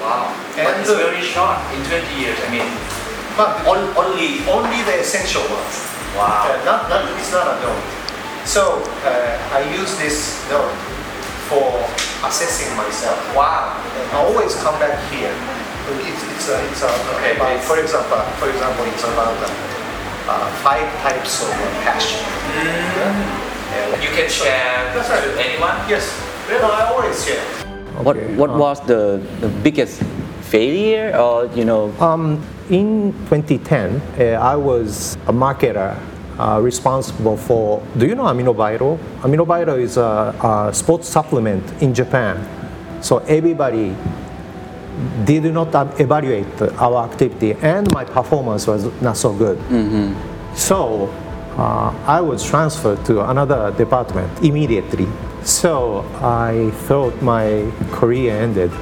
Wow. But it's very short in 20 years. I mean, But only the essential ones. wow. It's not a note. So I use this note for assessing myself. Wow. And I always come back here. It's Okay, about, please. for example, it's about 5 types of passion. And You can share That's right. to anyone? yes, no, I always share. What was the biggest failure or In 2010, I was a marketer responsible for, do you know AminoVital? AminoVital is a sports supplement in Japan. So everybody did not evaluate our activity and my performance was not so good. So I was transferred to another department immediately. So I thought my career ended.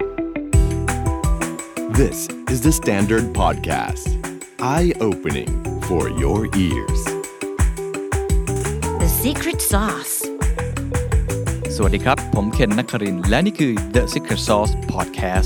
This is the Standard Podcast. Eye-opening for your ears. The Secret Sauce สวัสดีครับผมเคนนักครินทร์และนี่คือ The Secret Sauce Podcast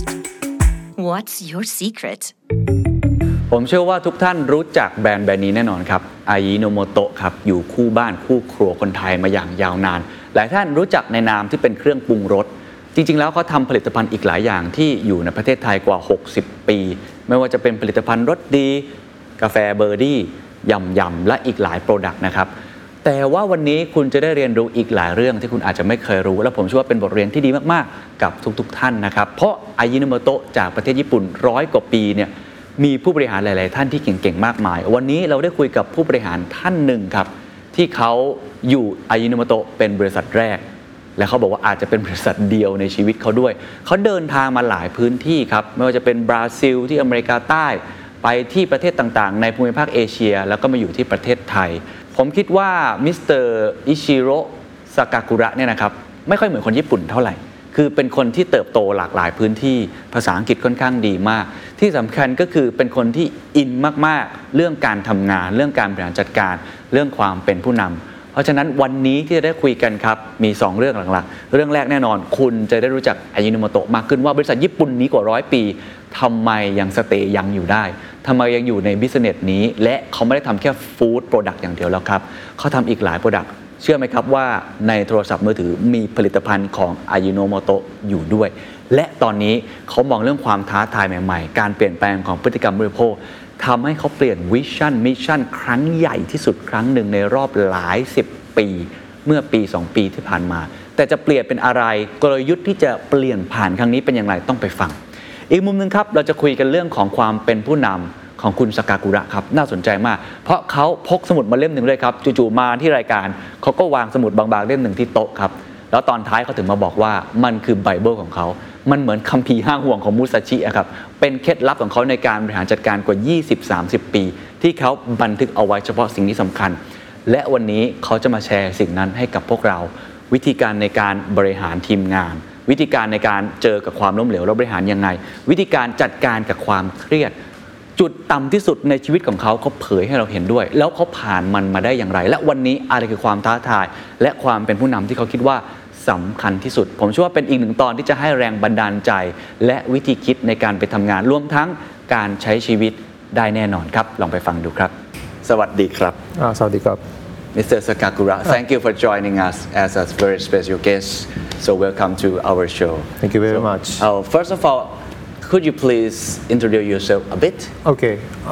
What's your secret ผมเชื่อว่าทุกท่านรู้จักแบรนด์นี้แน่นอนครับอายิโนโมโตะครับอยู่คู่บ้านคู่ครัวคนไทยมาอย่างยาวนานหลายท่านรู้จักในนามที่เป็นเครื่องปรุงรสจริงๆแล้วเขาทำผลิตภัณฑ์อีกหลายอย่างที่อยู่ในประเทศไทยกว่า60ปีไม่ว่าจะเป็นผลิตภัณฑ์รสดีกาแฟเบอร์ดี้ยำและอีกหลายโปรดักต์นะครับแต่ว่าวันนี้คุณจะได้เรียนรู้อีกหลายเรื่องที่คุณอาจจะไม่เคยรู้และผมเชื่อว่าเป็นบทเรียนที่ดีมากๆกับทุกๆท่านนะครับเพราะอายิโนโมโตะจากประเทศญี่ปุ่น100 กว่าปีเนี่ยมีผู้บริหารหลายๆท่านที่เก่งๆมากมายวันนี้เราได้คุยกับผู้บริหารท่านหนึ่งครับที่เขาอยู่อายิโนโมโตะเป็นบริษัทแรกและเขาบอกว่าอาจจะเป็นบริษัทเดียวในชีวิตเขาด้วยเขาเดินทางมาหลายพื้นที่ครับไม่ว่าจะเป็นบราซิลที่อเมริกาใต้ไปที่ประเทศต่างๆในภูมิภาคเอเชียแล้วก็มาอยู่ที่ประเทศไทยผมคิดว่ามิสเตอร์อิชิโร่ซากากุระเนี่ยนะครับไม่ค่อยเหมือนคนญี่ปุ่นเท่าไหร่คือเป็นคนที่เติบโตหลากหลายพื้นที่ภาษาอังกฤษค่อนข้างดีมากที่สำคัญก็คือเป็นคนที่อินมากๆเรื่องการทำงานเรื่องการบริหารจัดการเรื่องความเป็นผู้นำเพราะฉะนั้นวันนี้ที่จะได้คุยกันครับมี2เรื่องหลักๆเรื่องแรกแน่นอนคุณจะได้รู้จักอายิโนโมโตะมากขึ้นว่าบริษัทญี่ปุ่นนี้กว่า100 ปีทำไมยังสเตย์ยังอยู่ได้ทำไมยังอยู่ในบิสเนสนี้และเขาไม่ได้ทำแค่ฟู้ดโปรดักต์อย่างเดียวแล้วครับเขาทำอีกหลายโปรดักต์เชื่อไหมครับว่าในโทรศัพท์มือถือมีผลิตภัณฑ์ของอายิโนโมโตะอยู่ด้วยและตอนนี้เขามองเรื่องความท้าทายใหม่ๆการเปลี่ยนแปลงของพฤติกรรมบริโภคทำให้เขาเปลี่ยนวิชั่นมิชชั่นครั้งใหญ่ที่สุดครั้งหนึ่งในรอบหลาย10 ปีเมื่อปี2 ปีที่ผ่านมาแต่จะเปลี่ยนเป็นอะไรกลยุทธ์ที่จะเปลี่ยนผ่านครั้งนี้เป็นอย่างไรต้องไปฟังอีกมุมนึงครับเราจะคุยกันเรื่องของความเป็นผู้นำของคุณซากากุระครับน่าสนใจมากเพราะเขาพกสมุดมาเล่มหนึ่งเลยครับจู่ๆมาที่รายการเขาก็วางสมุดบางๆเล่มหนึ่งที่โต๊ะครับแล้วตอนท้ายเขาถึงมาบอกว่ามันคือไบเบิลของเขามันเหมือนคัมภีร์ห้าห่วงของมุซาชิอะครับเป็นเคล็ดลับของเขาในการบริหารจัดการกว่า 20-30 ปีที่เขาบันทึกเอาไว้เฉพาะสิ่งที่สำคัญและวันนี้เขาจะมาแชร์สิ่งนั้นให้กับพวกเราวิธีการในการบริหารทีมงานวิธีการในการเจอกับความล้มเหลวและบริหารยังไงวิธีการจัดการกับความเครียดจุดต่ำที่สุดในชีวิตของเขาเผยให้เราเห็นด้วยแล้วเขาผ่านมันมาได้อย่างไรและวันนี้อะไรคือความท้าทายและความเป็นผู้นำที่เขาคิดว่าสำคัญที่สุดผมเชื่อว่าเป็นอีกหนึ่งตอนที่จะให้แรงบันดาลใจและวิธีคิดในการไปทำงานรวมทั้งการใช้ชีวิตได้แน่นอนครับลองไปฟังดูครับสวัสดีครับสวัสดีครับ Mr. Sakakura, thank you for joining us as a very special guest. So welcome to our show. Thank you very much. First of all, could you please introduce yourself a bit? Okay.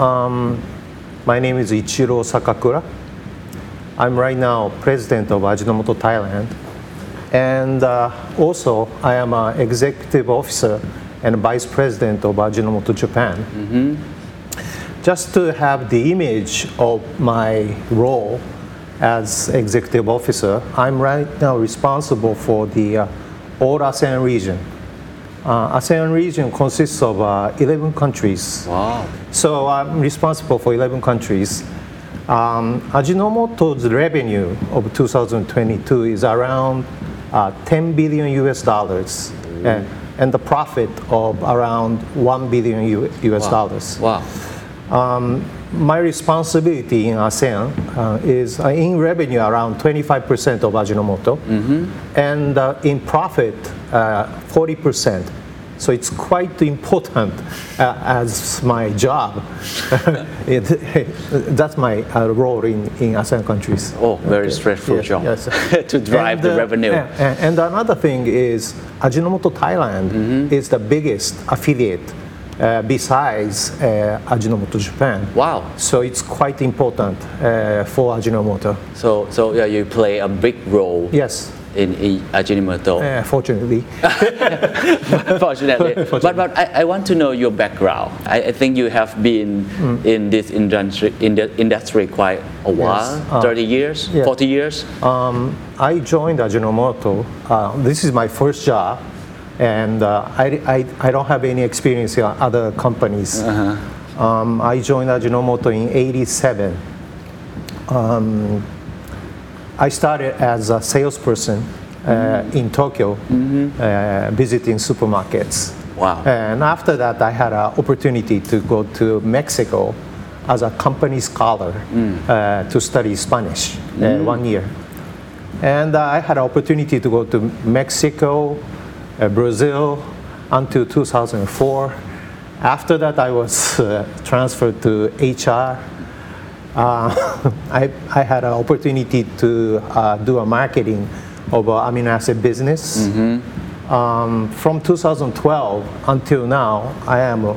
My name is Ichiro Sakakura. I'm right now president of Ajinomoto Thailand. And also, I am an executive officer and vice president of Ajinomoto Japan. Just to have the image of my role as executive officer, I'm right now responsible for the all ASEAN region. ASEAN region consists of 11 countries. Wow. So I'm responsible for 11 countries. Ajinomoto's revenue of 2022 is around $10 billion US dollars, and the profit of around $1 billion US dollars. Wow. My responsibility in ASEAN is in revenue around 25% of Ajinomoto, and in profit 40% So it's quite important as my job. That's my role in ASEAN countries. Oh, very stressful Yes, job yes. to drive the revenue. And another thing is Ajinomoto Thailand is the biggest affiliate besides Ajinomoto Japan. Wow. So it's quite important for Ajinomoto. So yeah, you play a big role Yes, in Ajinomoto. fortunately. Fortunately. But I want to know your background. I think you have been in this industry quite a while, 30 years, yeah. 40 years. I joined Ajinomoto. This is my first job, and I don't have any experience in other companies. I joined Ajinomoto in '87. I started as a salesperson in Tokyo, visiting supermarkets. Wow. And after that, I had an opportunity to go to Mexico as a company scholar to study Spanish 1 year. And I had an opportunity to go to Mexico, Brazil, until 2004. After that, I was transferred to HR. I had an opportunity to do a marketing of amino acid business. From 2012 until now, I am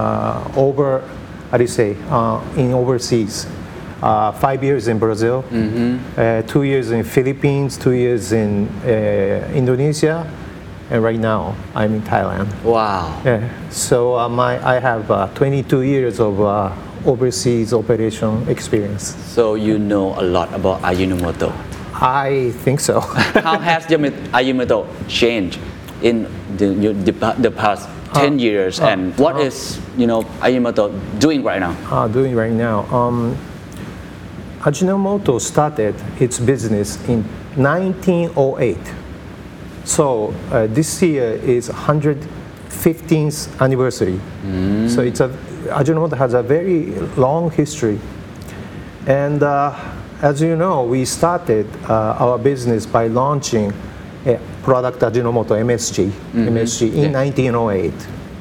in overseas. 5 years in Brazil, 2 years in Philippines, 2 years in Indonesia, and right now I'm in Thailand. Wow. Yeah. So I have 22 years of overseas operation experience. So you know a lot about Ajinomoto. I think so. How has Ajinomoto changed in the past 10 years, and what is Ajinomoto doing right now? Doing right now. Ajinomoto started its business in 1908. So this year is 115th anniversary. So Ajinomoto has a very long history. And as you know, we started our business by launching a product Ajinomoto MSG in 1908.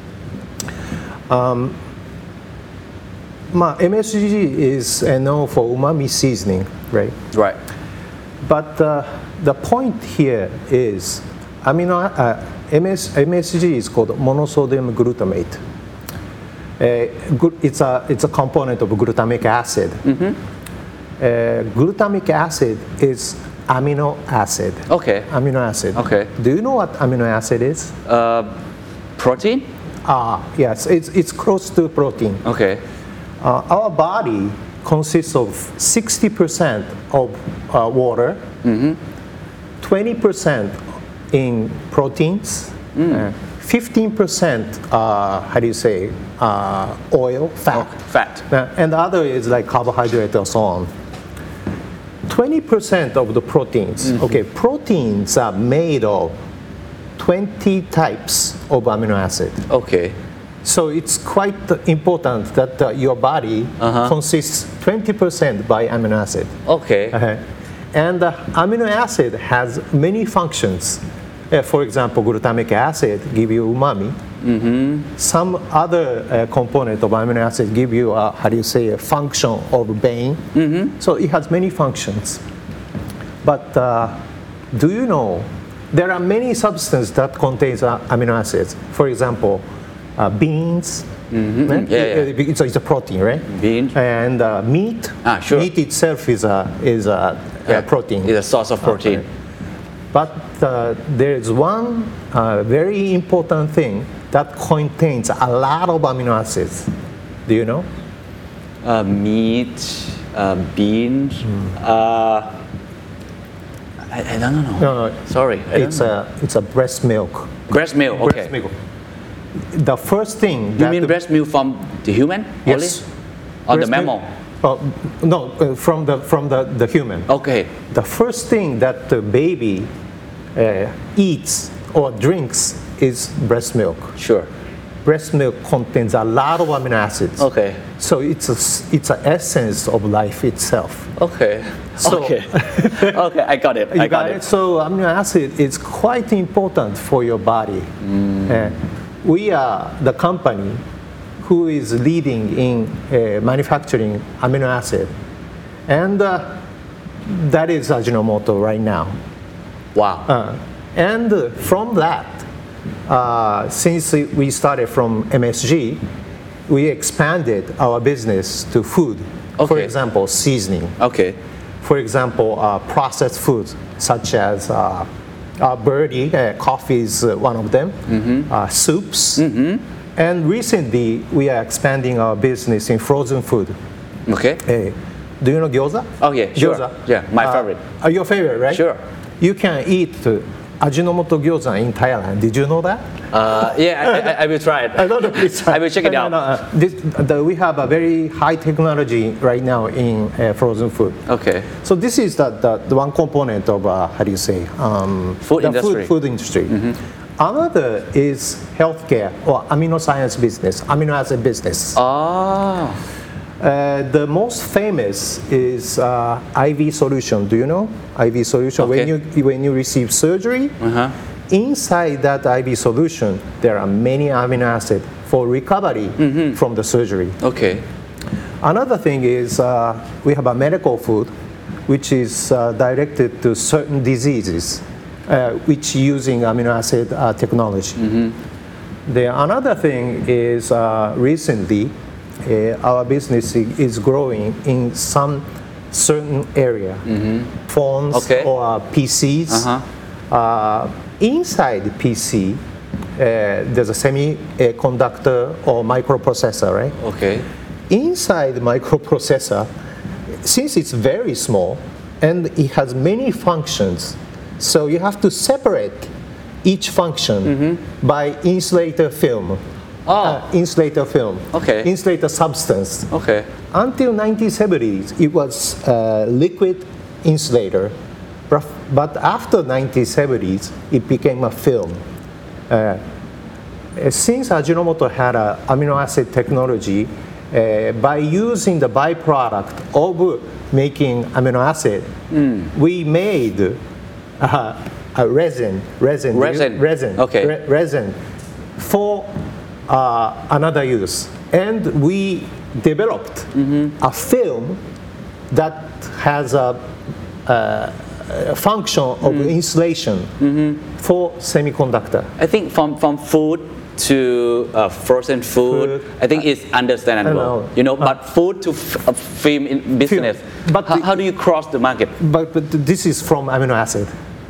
MSG is known for umami seasoning, right? Right. But the point here is MSG is called monosodium glutamate. It's a component of glutamic acid. Glutamic acid is amino acid. Okay. Amino acid. Okay. Do you know what amino acid is? Protein? Yes, it's close to protein. Okay. Our body consists of 60% of water, 20% in proteins, 15% oil, fat. Fat. And the other is like carbohydrate or so on. 20% of the proteins. Okay, proteins are made of 20 types of amino acid. Okay. So it's quite important that your body consists 20% by amino acid. Okay. And amino acid has many functions. For example, glutamic acid give you umami. Some other component of amino acid give you a function of brain. So it has many functions. But do you know there are many substances that contains amino acids? For example, beans. It's a protein, right? Beans. And meat. Sure. Meat itself is a protein. It's a source of protein. Okay. But there is one very important thing that contains a lot of amino acids. Do you know? Meat, beans. I don't know. No. Sorry. It's a breast milk. Breast milk. Okay. Breast milk. The first thing. You mean breast milk from the human? Yes. Only? Or the Breast mammal? No, from the human. Okay. The first thing that the baby eats or drinks is breast milk. Sure. Breast milk contains a lot of amino acids. Okay. So it's an essence of life itself. Okay. So- okay. Okay, I got it. I got it. So amino acid is quite important for your body. we are the company who is leading in manufacturing amino acid. And that is Ajinomoto right now. Wow. And from that, since we started from MSG, we expanded our business to food. For Okay. example, seasoning. Okay. For example, processed foods such as birdie, coffee is one of them, soups. And recently, we are expanding our business in frozen food. Okay. Do you know gyoza? Oh, yeah, sure. Gyoza. Yeah, my favorite. Your favorite, right? Sure. You can eat Ajinomoto gyoza in Thailand. Did you know that? Yeah, I will try it. I don't know, please. I will check it out. We have a very high technology right now in frozen food. Okay. So this is the one component of how do you say Food the industry. Food industry. Another is healthcare or amino science business, amino acid business. Oh. The most famous is IV solution. Do you know IV solution? Okay. When you receive surgery, inside that IV solution, there are many amino acids for recovery from the surgery. Okay. Another thing is we have a medical food, which is directed to certain diseases, which using amino acid technology. Another thing is recently our business is growing in some certain area, phones Okay. or PCs. Inside PC, there's a semiconductor or microprocessor, right? Okay. Inside the microprocessor, since it's very small and it has many functions, so you have to separate each function by insulator film. Insulator film. Okay. Insulator substance. Okay. Until 1970s, it was liquid insulator, but after 1970s, it became a film. Since Ajinomoto had an amino acid technology, by using the byproduct of making amino acid, we made a resin. Okay. Resin for another use, and we developed a film that has a function of insulation for semiconductor. I think from food to frozen food, I think it's understandable. know. But food to film in business. But how do you cross the market? But this is from amino acid.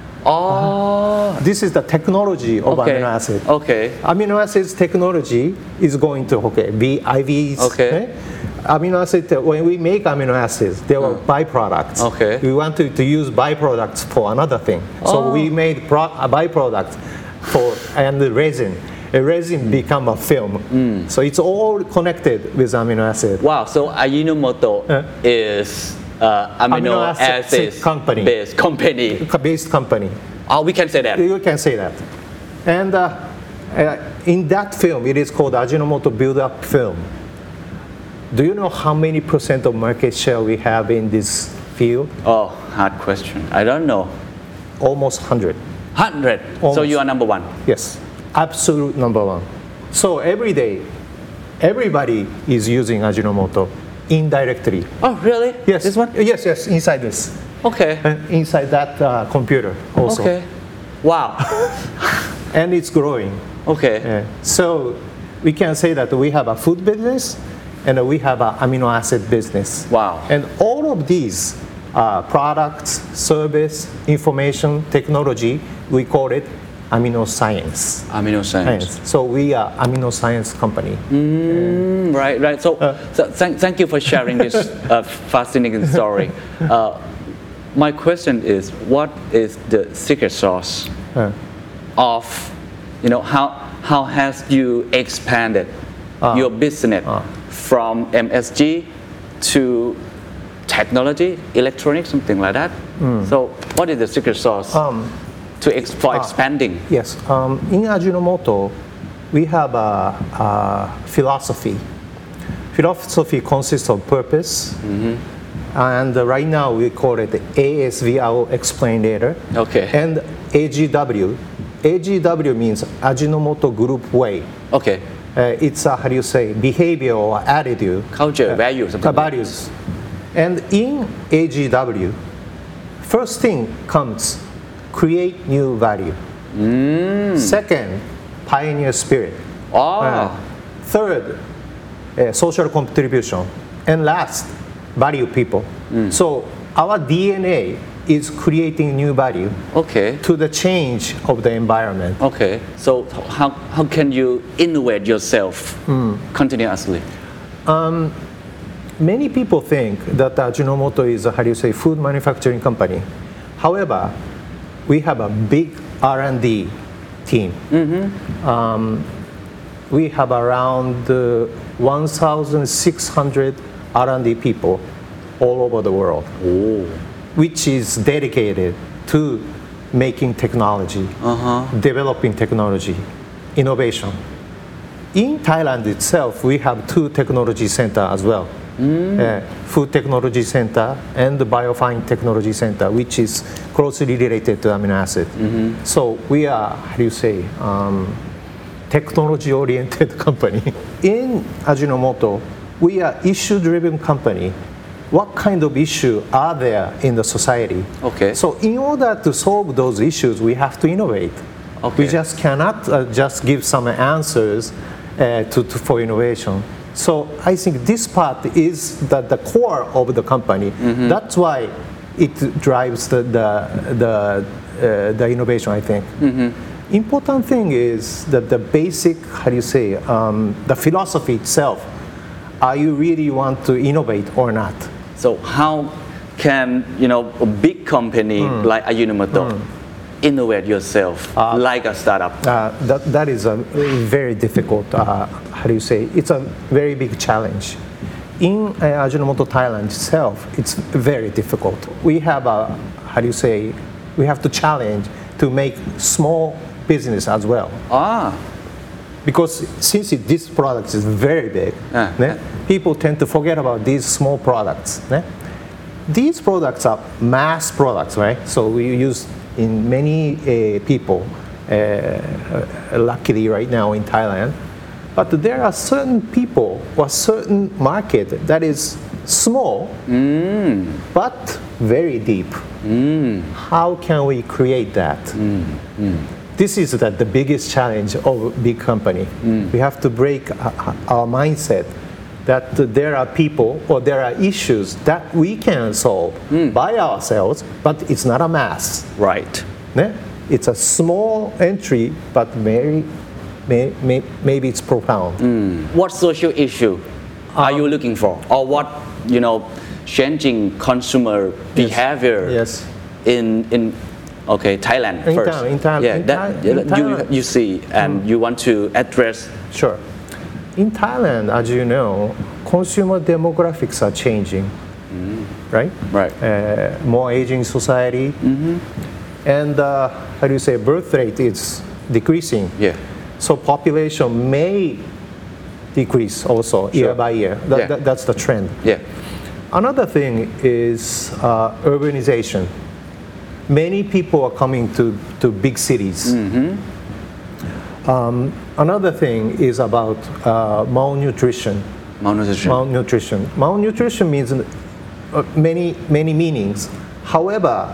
Oh. This is the technology of Okay. amino acid. Okay. Amino acids technology is going to be IVs. Okay. Amino acid. When we make amino acids, there were byproducts. Okay. We wanted to use byproducts for another thing, so we made a byproduct and the resin. A resin become a film. So it's all connected with amino acid. Wow. So Ajinomoto is amino acid company. based company. Based company. Oh, we can say that. You can say that. And in that film, it is called Ajinomoto Build-Up Film. Do you know how many % of market share we have in this field? Oh, hard question. I don't know. Almost 100. 100. So Almost. you are number one. Yes, absolute number one. So every day, everybody is using Ajinomoto indirectly. Oh, really? Yes. This one? Yes, inside this. Okay. Inside that computer also. Okay. Wow. And it's growing. Okay. So we can say that we have a food business and we have an amino acid business. Wow. And all of these products, service, information, technology, we call it amino science. Amino science. So we are amino science company. Right. So thank you for sharing this fascinating story. My question is, what is the secret sauce of, how has you expanded your business from MSG to technology, electronics, something like that? So what is the secret sauce for expanding? Yes. In Ajinomoto, we have a philosophy. Philosophy consists of purpose. And right now we call it ASV, I will explain later. Okay. And AGW, AGW means Ajinomoto Group Way. Okay. It's a, how do you say, behavior or attitude. Culture, values, something like Values. And in AGW, first thing comes create new value. Second, pioneer spirit. Third, social contribution. And last, value people. So our DNA is creating new value Okay. to the change of the environment. Okay. So how can you innovate yourself continuously? Many people think that Ajinomoto is a, how do you say, food manufacturing company. However, we have a big R&D team. We have around 1,600 R&D people all over the world, which is dedicated to making technology, developing technology, innovation. In Thailand itself, we have 2 technology centers as well. Food Technology Center and the Biofine Technology Center, which is closely related to amino acid. So we are, how do you say, technology-oriented company. In Ajinomoto, we are issue-driven company. What kind of issue are there in the society? Okay. So in order to solve those issues, we have to innovate. Okay. We just cannot just give some answers for innovation. So I think this part is the core of the company. That's why it drives the innovation, I think. Important thing is that the basic, how do you say, the philosophy itself. Are you really want to innovate or not? So how can a big company like Ajinomoto innovate yourself like a startup? That is a very difficult, how do you say, it's a very big challenge. In Ajinomoto Thailand itself, it's very difficult. We have a, how do you say, we have to challenge to make small business as well. Because since this product is very big, people tend to forget about these small products. These products are mass products, right? So we use in many people, luckily right now in Thailand. But there are certain people or certain market that is small, but very deep. How can we create that? This is the biggest challenge of a big company. We have to break our mindset that there are people or there are issues that we can solve by ourselves, but it's not a mass. Right. It's a small entry, but maybe it's profound. What social issue are you looking for, or what changing consumer behavior in Thailand first? In Thailand, you see and you want to address. Sure. In Thailand, as you know, consumer demographics are changing, right? Right. More aging society, and how do you say, birth rate is decreasing. Yeah. So population may decrease also year by year. That's the trend. Yeah. Another thing is urbanization. Many people are coming to big cities. Another thing is about malnutrition. Malnutrition means many meanings. However,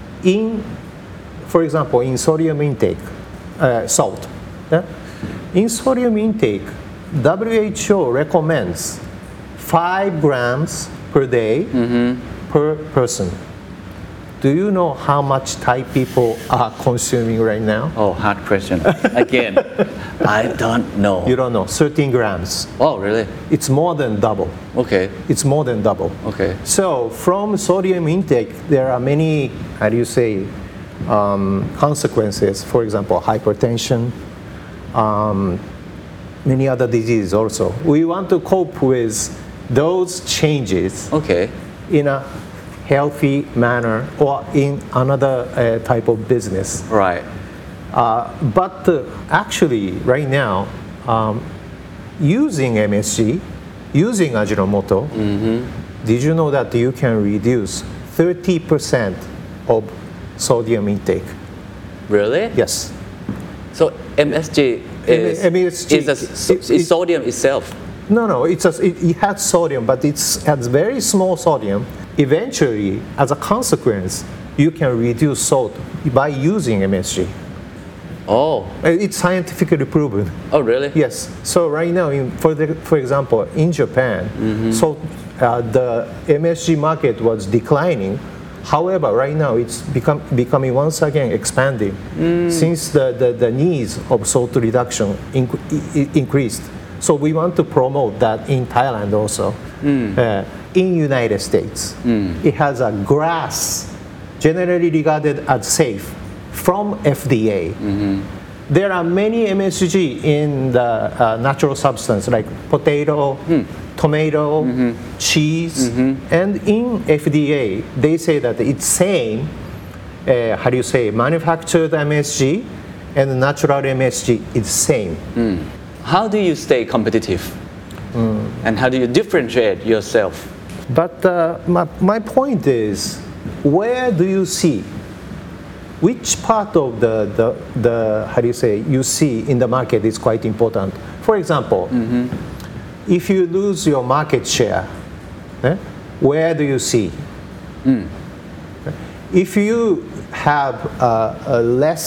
for example, in sodium intake, salt. In sodium intake, WHO recommends 5 grams per day per person. Do you know how much Thai people are consuming right now? Oh, hard question. Again, I don't know. You don't know. 13 grams. Oh, really? It's more than double. Okay. It's more than double. Okay. So from sodium intake, there are many, how do you say, consequences. For example, hypertension, many other diseases also. We want to cope with those changes in a healthy manner or in another type of business. Right. But actually, right now, using MSG, using Ajinomoto, did you know that you can reduce 30% of sodium intake? Really? Yes. So MSG is sodium itself. No, it has sodium, but it has very small sodium. Eventually, as a consequence, you can reduce salt by using MSG. Oh. It's scientifically proven. Oh, really? Yes. So right now, for example, in Japan, the MSG market was declining. However, right now it's becoming once again expanding since the needs of salt reduction increased. So we want to promote that in Thailand also. In United States, it has a GRAS, generally regarded as safe, from FDA. There are many MSG in the natural substance like potato, tomato, cheese, and in FDA they say that it's same, manufactured MSG and natural MSG is same. How do you stay competitive? And how do you differentiate yourself? But my point is, where do you see? Which part of you see in the market is quite important. For example, if you lose your market share, where do you see? If you have a less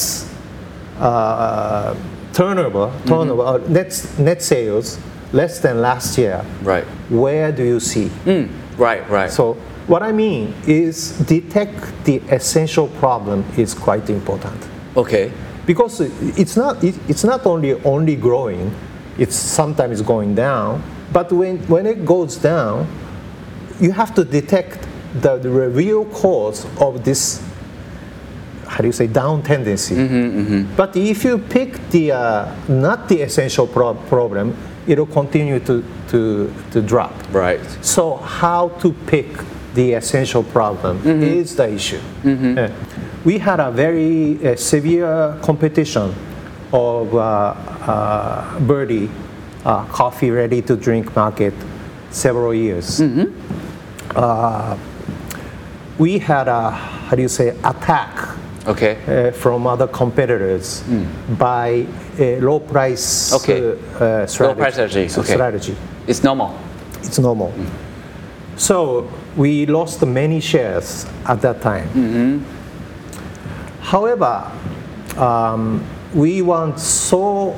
turnover, net sales less than last year, Right. where do you see? Right. So what I mean is detect the essential problem is quite important. Okay. Because it's not only growing, it's sometimes going down, but when it goes down, you have to detect the real cause of this, down tendency. But if you pick the not the essential problem, it'll continue to drop. Right. So how to pick the essential problem is the issue. We had a very severe competition of Birdie coffee ready to drink market several years. We had a attack Okay. from other competitors by a low price strategy. Low price strategy. Okay. strategy. It's normal. It's normal. So we lost many shares at that time. However, we weren't so,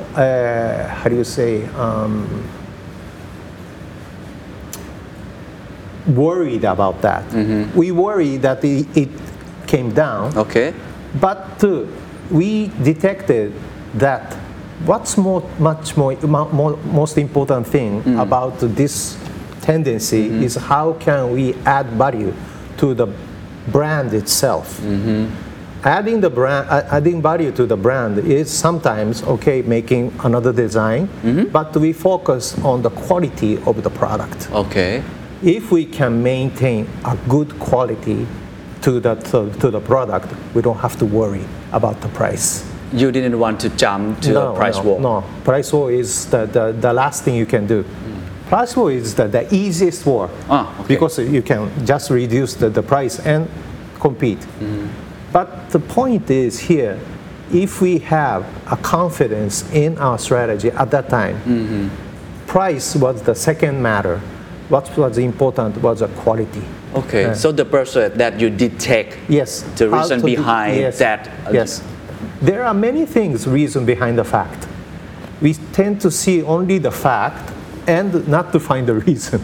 worried about that. We worried that it came down, Okay. but we detected that what's most important thing about this tendency is how can we add value to the brand itself. Adding value to the brand is sometimes making another design, but we focus on the quality of the product. Okay. If we can maintain a good quality to the product, we don't have to worry about the price. You didn't want to jump to a price war. No, price war is the last thing you can do. Price war is the easiest war because you can just reduce the price and compete. But the point is here, if we have a confidence in our strategy at that time, price was the second matter. What was important was the quality. Okay, so the person that you detect the reason behind that. Yes. There are many things, reason behind the fact. We tend to see only the fact and not to find the reason.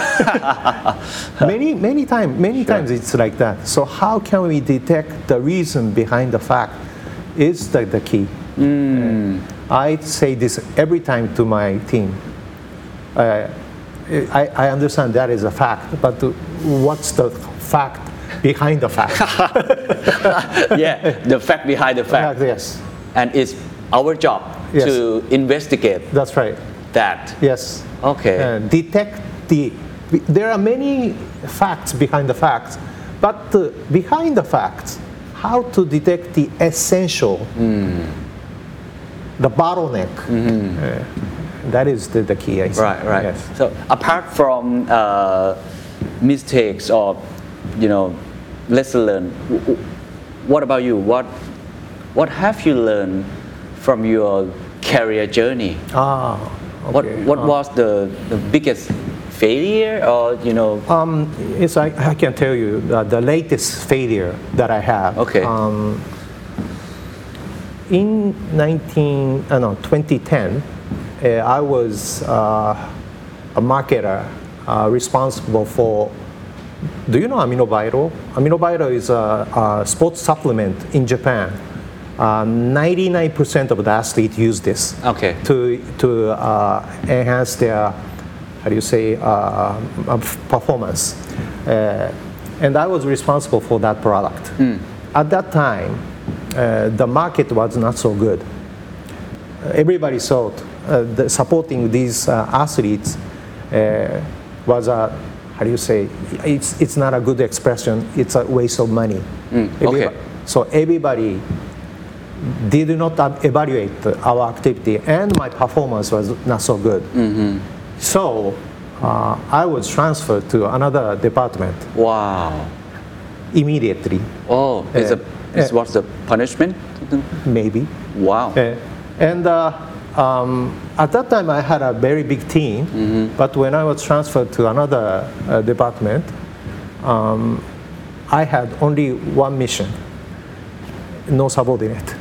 many times it's like that. So how can we detect the reason behind the fact is the key. I say this every time to my team. I understand that is a fact, but what's the fact behind the fact? The fact behind the fact. Yes. And it's our job to investigate. That's right. That. Yes. Okay. Detect there are many facts behind the facts, but behind the facts, how to detect the essential, the bottleneck. That is the key, I think. Right. Yes. So apart from mistakes or lesson learned, what about you? What have you learned from your career journey. Okay. What was the biggest failure, or Yes, I can tell you the latest failure that I have. Okay. In 2010, I was a marketer responsible for. Do you know AminoVital? AminoVital is a sports supplement in Japan. 99% of the athletes use this Okay. to enhance their, performance. And I was responsible for that product. At that time, the market was not so good. Everybody thought supporting these athletes was a, it's not a good expression, it's a waste of money. Okay. So everybody did not evaluate our activity, and my performance was not so good. So I was transferred to another department Wow. immediately, Oh, what's the punishment? maybe. Wow. And at that time, I had a very big team, but when I was transferred to another department, I had only one mission, no subordinate.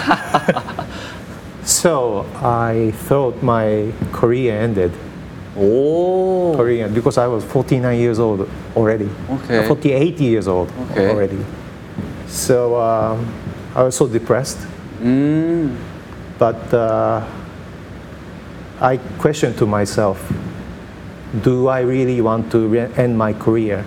So I thought my career ended. Because I was 49 years old already. Okay. 48 years old Okay. already. So I was so depressed. But I questioned to myself, do I really want to end my career?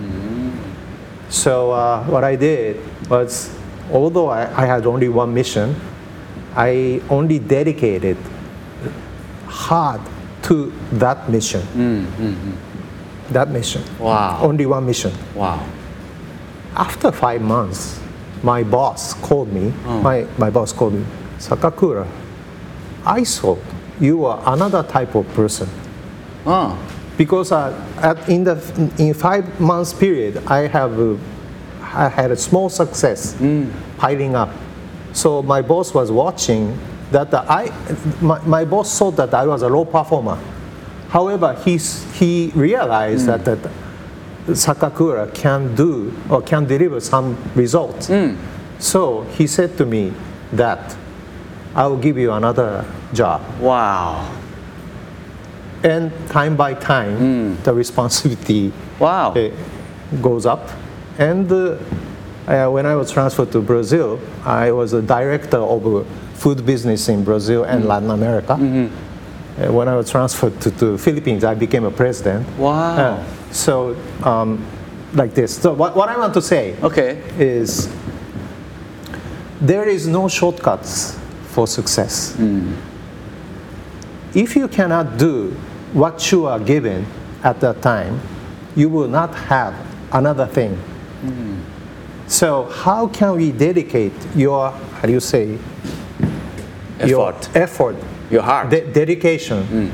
So what I did was, although I had only one mission, I only dedicated hard to that mission. That mission. Wow. Only one mission. Wow. After 5 months, my boss called me. My boss called me, Sakakura, I thought you were another type of person. Oh. Because in 5 months period, I had a small success piling up. So my boss was watching that my boss thought that I was a low performer. However, he realized that Sakakura can do or can deliver some results. So he said to me that I will give you another job. Wow. And time by time, the responsibility Wow. goes up. And when I was transferred to Brazil, I was a director of food business in Brazil and Latin America. When I was transferred to Philippines, I became a president. Wow. So like this. So what I want to say Okay. is there is no shortcuts for success. If you cannot do what you are given at that time, you will not have another thing. So how can we dedicate your, your effort, Your heart. dedication?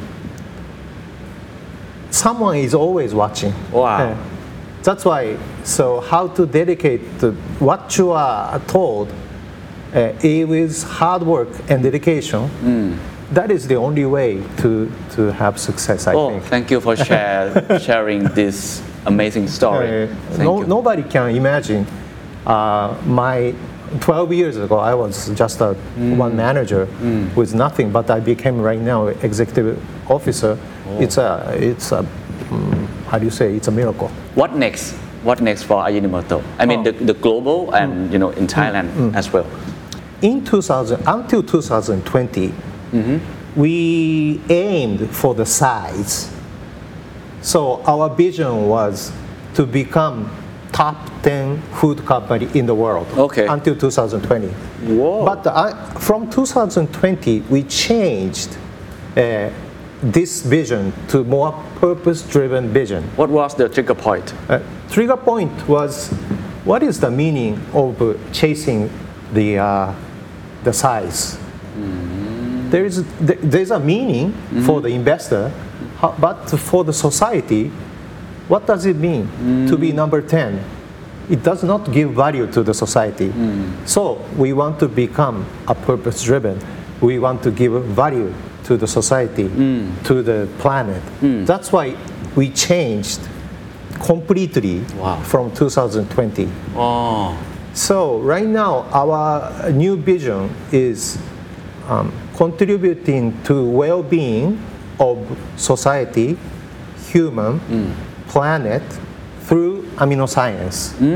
Someone is always watching. Wow. That's why, so how to dedicate what you are told with hard work and dedication, that is the only way to have success, I think. Thank you for sharing this amazing story. Thank you. Nobody can imagine. My 12 years ago, I was just a one manager with nothing, but I became right now executive officer. It's a it's a miracle. What next? What next for Ajinomoto? I mean, the global and in Thailand as well. Until 2020, we aimed for the size. So our vision was to become top 10 food company in the world. Okay. Until 2020. Whoa. But from 2020, we changed this vision to more purpose-driven vision. What was the trigger point? Trigger point was, what is the meaning of chasing the size? There's a meaning for the investor, but for the society, what does it mean to be number 10? It does not give value to the society. So we want to become a purpose-driven. we want to give value to the society, to the planet. That's why we changed completely Wow. from 2020. อ๋อ So right now, our new vision is contributing to well-being of society, human, planet through amino science.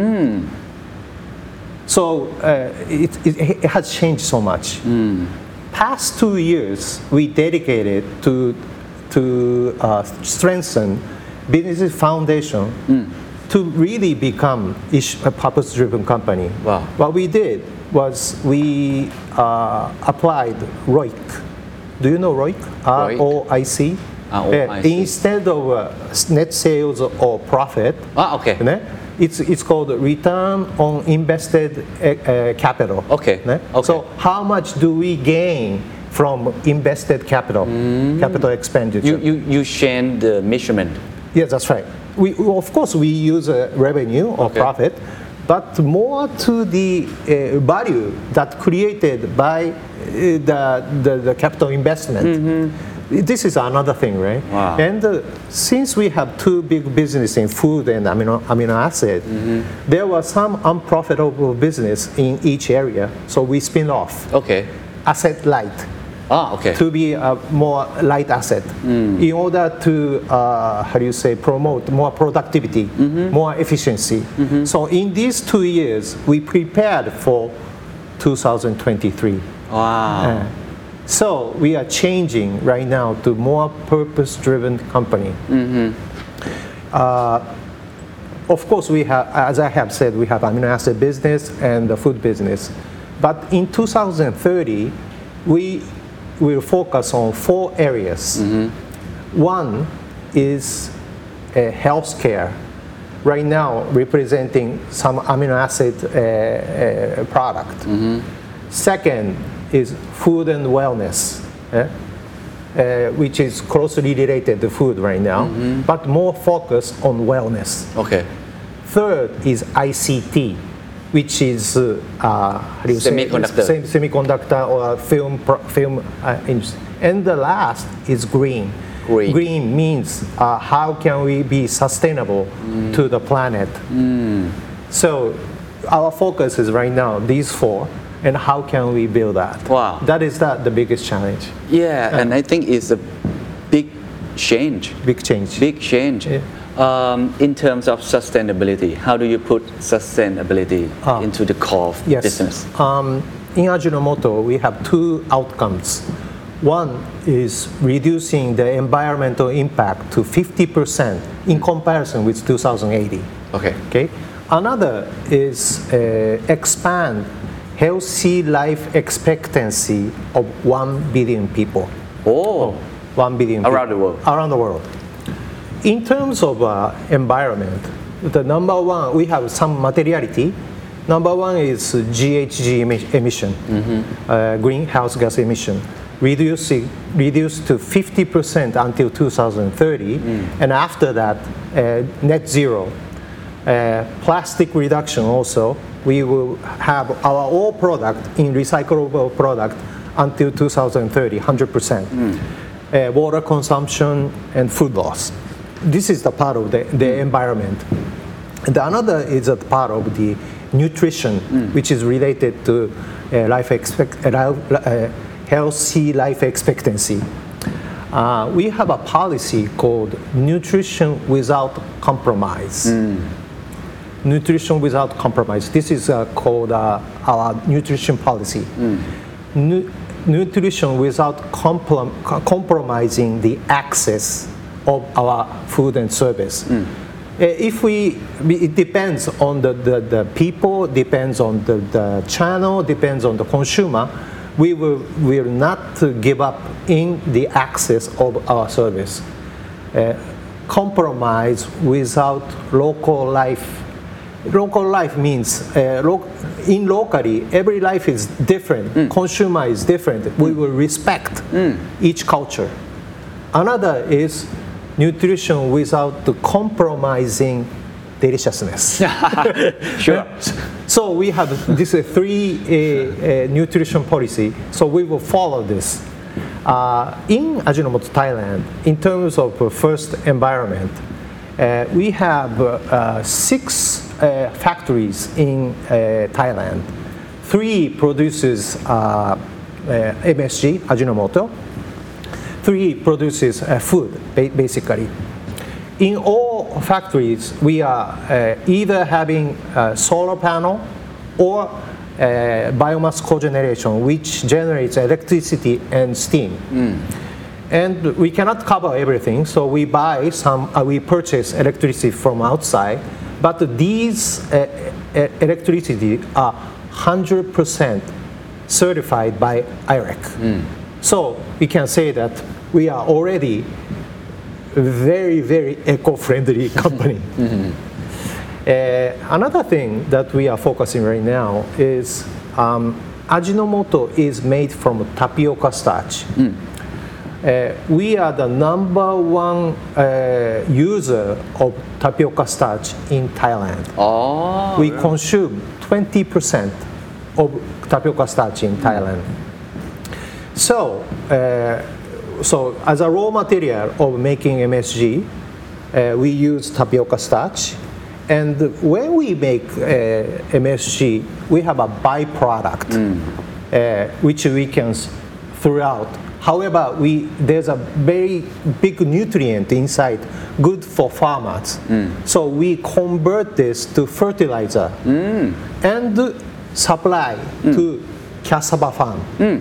So it has changed so much. Past 2 years, we dedicated to strengthen business foundation to really become a purpose-driven company. Wow. What we did was we applied ROIC. Do you know ROIC? ROIC. ROIC. ROIC. Instead of net sales or profit, โอเค né? It's called return on invested capital. Okay. né? Okay. So how much do we gain from invested capital, capital expenditure? you change the measurement Yes, that's right. Of course, we use revenue or Okay. profit, but more to the value that created by the capital investment. This is another thing, right? Wow. And since we have two big businesses in food and amino acid, there was some unprofitable business in each area, so we spin off โอเค asset light. โอเค To be a more light asset in order to how do you say promote more productivity, more efficiency. So in these 2 years we prepared for 2023. ว้าว So we are changing right now to more purpose-driven company. Of course, we have, as I have said, we have amino acid business and the food business. But in 2030, we will focus on 4 areas. One is healthcare. Right now, representing some amino acid product. Second is food and wellness, which is closely related to food right now, but more focused on wellness. โอเค Third is ICT, which is how do you say? Semiconductor. Semiconductor or film industry. And the last is green. Green. Green means how can we be sustainable to the planet. So our focus is right now these 4, and how can we build that? Wow. That is the biggest challenge. yeah and I think it's a big change Big change. big change in terms of sustainability how do you put sustainability into the core of Yes. business In Ajinomoto, we have 2 outcomes. One is reducing the environmental impact to 50% in comparison with 2080. โอเค Okay. Another is expand healthy life expectancy of 1 billion people. โอ้ 1 billion people. Around the world. Around the world. In terms of environment, the number one, we have some materiality. Number one is GHG emission, greenhouse gas emission, reduced to 50% until 2030, and after that, net zero. Plastic reduction also, we will have our all product in recyclable product until 2030, 100%. Water consumption and food loss. This is the part of the environment. The another is a part of the nutrition, which is related to healthy life expectancy. We have a policy called nutrition without compromise. Nutrition without compromise. This is called our nutrition policy. Nutrition without compromising the access of our food and service. It depends on the people, depends on the channel, depends on the consumer. We will not give up in the access of our service. Compromise without local life. Local life means in locally, every life is different. Consumer is different. We will respect each culture. Another is nutrition without compromising deliciousness. Sure. So we have this three nutrition policy. So we will follow this. In Ajinomoto Thailand, in terms of first environment, we have 6 factories in Thailand. 3 produces MSG, Ajinomoto. 3 produces food, basically. In all factories, we are either having a solar panel or biomass cogeneration, which generates electricity and steam. And we cannot cover everything, so we buy some, we purchase electricity from outside, but these electricity are 100% certified by IREC. So we can say that we are already a very, very eco-friendly company. Another thing that we are focusing right now is Ajinomoto is made from tapioca starch. We are the #1 user of tapioca starch in Thailand. We consume 20% of tapioca starch in Thailand. So, so as a raw material of making MSG, we use tapioca starch. And when we make MSG, we have a byproduct, which we can throw out. However, there's a very big nutrient inside, good for farmers. So we convert this to fertilizer and supply to cassava farm.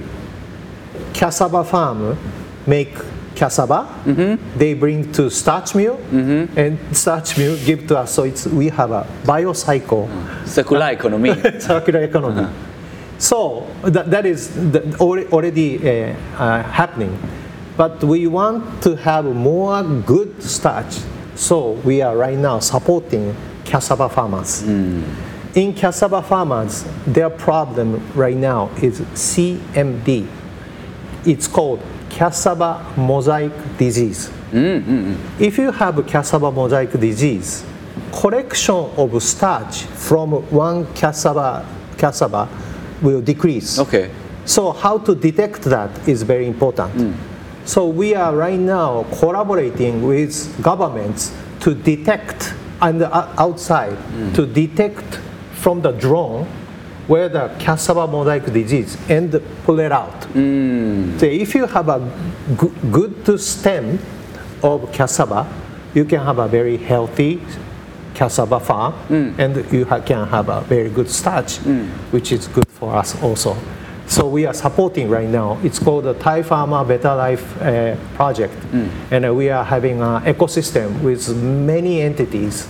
Cassava farm make cassava, they bring to starch mill, and starch mill give to us. So we have a biocycle. Circular economy. Circular economy. So that is already happening. But we want to have more good starch. So we are right now supporting cassava farmers. In cassava farmers, their problem right now is CMD. It's called cassava mosaic disease. If you have cassava mosaic disease, collection of starch from one cassava will decrease. Okay. So how to detect that is very important. So we are right now collaborating with governments to detect on the outside, to detect from the drone where the cassava mosaic disease and pull it out. So if you have a good stem of cassava, you can have a very healthy cassava farm, and you can have a very good starch, which is good for us also. So we are supporting right now. It's called the Thai Farmer Better Life project, and we are having an ecosystem with many entities.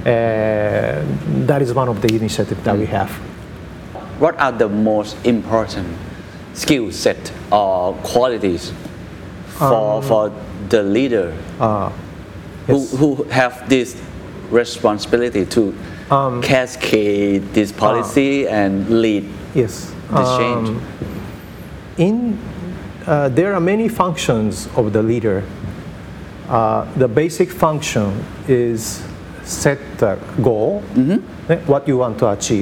That is one of the initiatives that we have. What are the most important skill set or qualities for the leader who have this responsibility to cascade this policy and lead Yes. this change? There are many functions of the leader. The basic function is set the goal, what you want to achieve.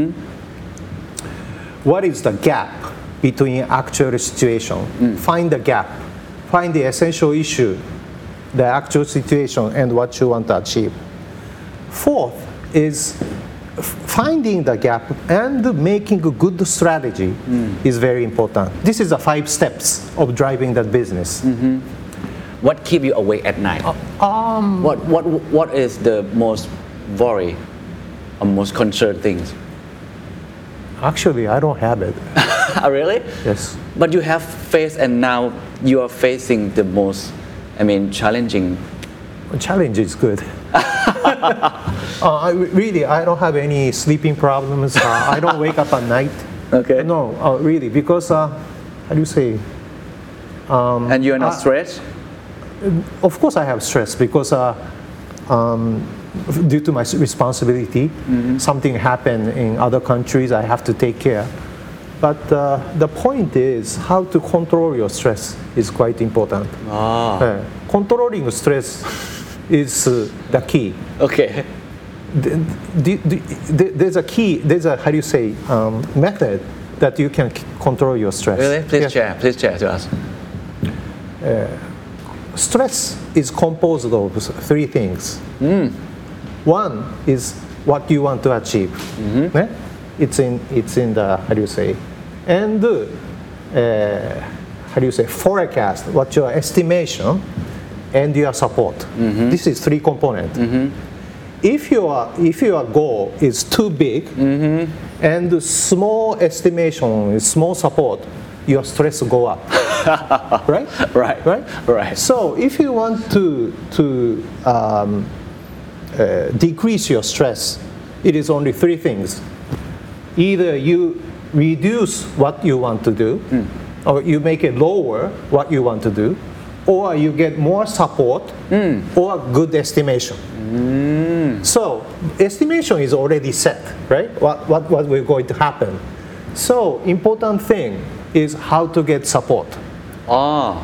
What is the gap between actual situation? Find the gap. Find the essential issue, the actual situation, and what you want to achieve. Fourth is finding the gap and making a good strategy is very important. This is the 5 steps of driving that business. What keep you awake at night? What is the most worry or most concerned things? Actually, I don't have it. Really? Yes. But you have faced, and now you are facing the most, challenging. Challenge is good. Really, I don't have any sleeping problems. I don't wake up at night. Okay. No, really, because how do you say? And you are not stressed? Of course, I have stress because due to my responsibility, something happened in other countries. I have to take care. But the point is how to control your stress is quite important. Controlling stress is the key. Okay. there's a key, there's a, how do you say, method that you can control your stress. Really? Please Yeah. share to us. Stress is composed of three things. One is what you want to achieve. Eh? It's in the, how do you say, and how do you say, forecast, what your estimation and your support. This is three components. If your goal is too big and the small estimation, small support, your stress go up. Right? Right. So if you want to decrease your stress, it is only three things. Either you reduce what you want to do, or you make it lower what you want to do, or you get more support or good estimation. So estimation is already set, right? What will going to happen. So important thing is how to get support. Or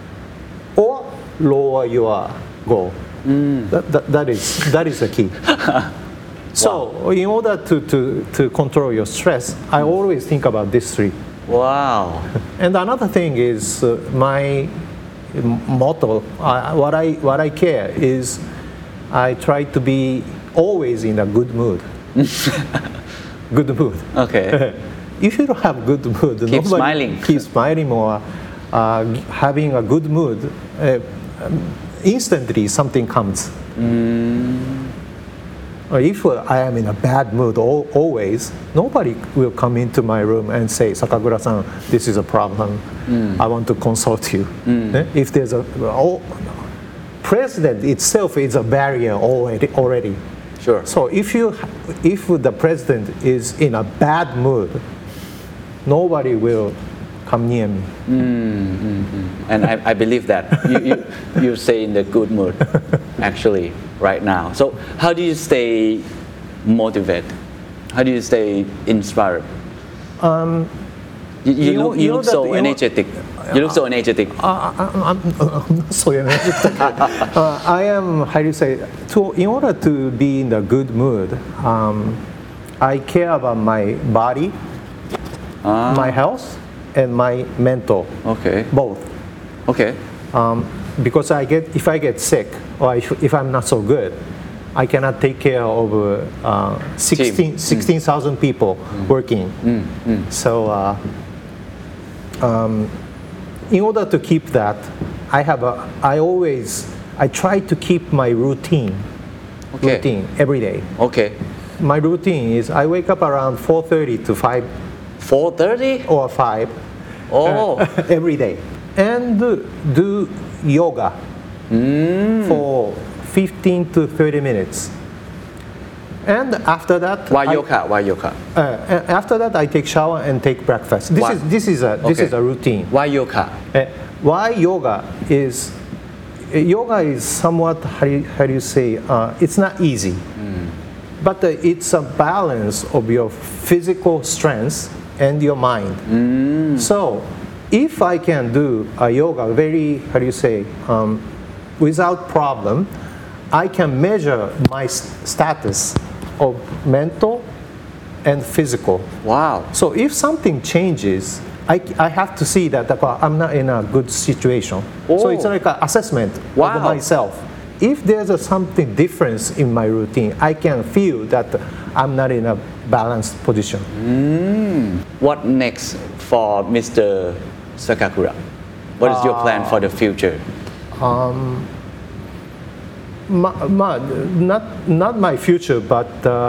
lower your goal. That is the key. So in order to control your stress, I always think about these three. Wow. And another thing is my motto. What I care is I try to be always in a good mood. Good mood. Okay. If you don't have good mood, Keep smiling. Keep smiling or having a good mood. Instantly something comes. Or if I am in a bad mood always, nobody will come into my room and say, Sakakura-san, this is a problem. I want to consult you. If there's president itself is a barrier already. Sure. So if the president is in a bad mood, nobody will come near me. And I believe that you stay in the good mood, actually, right now. So how do you stay motivated? How do you stay inspired? You look so energetic. You look so energetic. I'm not so energetic. I am, how do you say, in order to be in the good mood, I care about my body, my health, and my mental. Okay. Both. Okay. Because if I get sick or if I'm not so good, I cannot take care of 16,000 people working. So in order to keep that, I try to keep my routine every day. Okay. My routine is I wake up around 4:30 to 5. 4:30 or 5 every day, and do yoga for 15 to 30 minutes. And after that, Why yoga? After that, I take shower and take breakfast. This is a routine. Why yoga? Why yoga is somewhat, how do you say, it's not easy, but it's a balance of your physical strength and your mind. So if I can do a yoga very, how do you say, without problem, I can measure my status of mental and physical. Wow. So if something changes, I have to see that I'm not in a good situation. So it's like an assessment of myself. If there's something difference in my routine, I can feel that I'm not in a balanced position. What next for Mr. Sakakura? What is your plan for the future? Not my future, but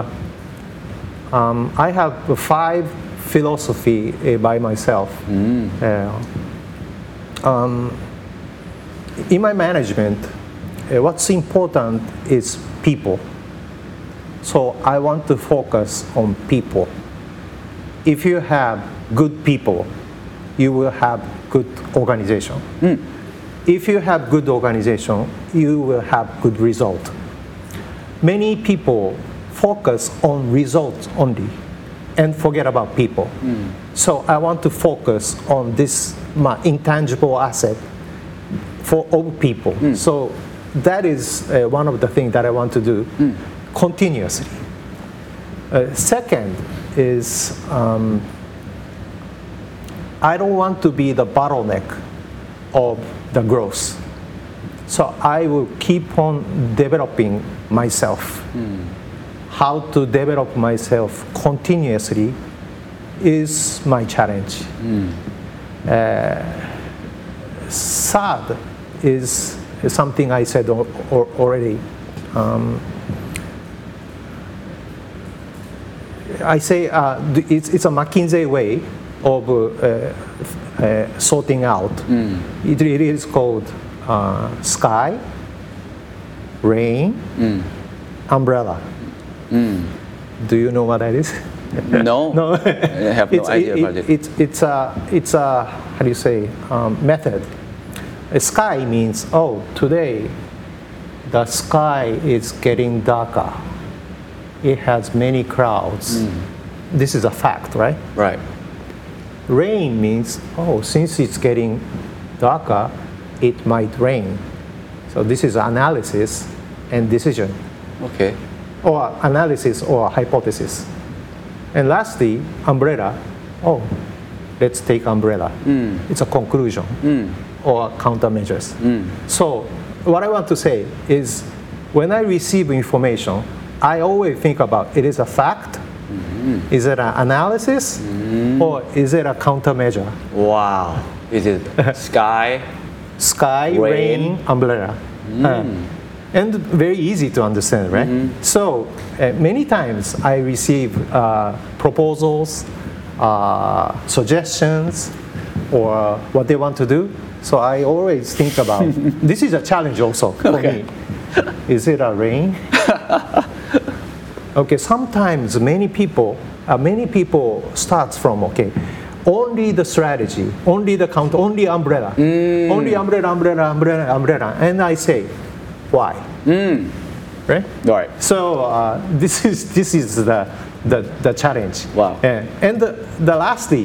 I have 5 philosophy by myself. In my management, what's important is people. So I want to focus on people. If you have good people, you will have good organization. If you have good organization, you will have good result. Many people focus on results only and forget about people. So I want to focus on this my intangible asset for all people. So that is one of the things that I want to do. continuously. Second is I don't want to be the bottleneck of the growth. So I will keep on developing myself. How to develop myself continuously is my challenge. Third is something I said already. I say it's a McKinsey way of sorting out. It is called sky, rain, umbrella. Do you know what that is? No. No. I have no idea about it. It's a how do you say method. Sky means today the sky is getting darker. It has many clouds. This is a fact, right? Right. Rain means since it's getting darker, it might rain. So this is analysis and decision. Okay. Or analysis or hypothesis. And lastly, umbrella. Let's take umbrella. It's a conclusion or countermeasures. So what I want to say is when I receive information, I always think about it is a fact, is it an analysis, or is it a countermeasure? Wow. Is it sky? Sky, rain, umbrella. And very easy to understand, right? So many times I receive proposals, suggestions, or what they want to do. So I always think about this is a challenge also for me. Is it a rain? Okay, sometimes many people starts from only the strategy, only the count, only umbrella, only umbrella, and I say, why? Right? Right. So this is the challenge. Wow. And the lastly,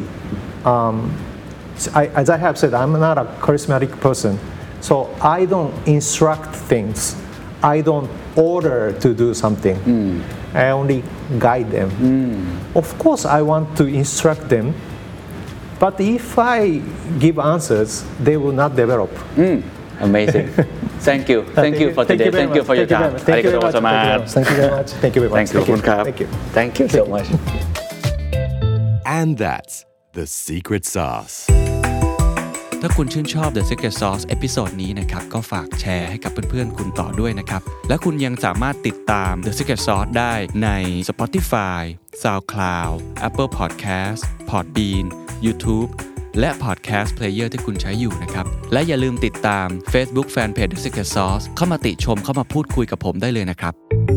as I have said, I'm not a charismatic person, so I don't instruct things. I don't order to do something. I only guide them. Of course, I want to instruct them, but if I give answers, they will not develop. Amazing. Thank you. Thank you for today. Thank you for your time. Thank you very much. Thank you very much. Thank you very much. Thank you. Thank you. Thank you so much. And that's the secret sauce. ถ้าคุณชื่นชอบ The Secret Sauce เอพิโซดนี้นะครับก็ฝากแชร์ให้กับเพื่อนๆคุณต่อด้วยนะครับและคุณยังสามารถติดตาม The Secret Sauce ได้ใน Spotify, SoundCloud, Apple Podcast, Podbean, YouTube และ Podcast Player ที่คุณใช้อยู่นะครับและอย่าลืมติดตาม Facebook Fanpage The Secret Sauce เข้ามาติชมเข้ามาพูดคุยกับผมได้เลยนะครับ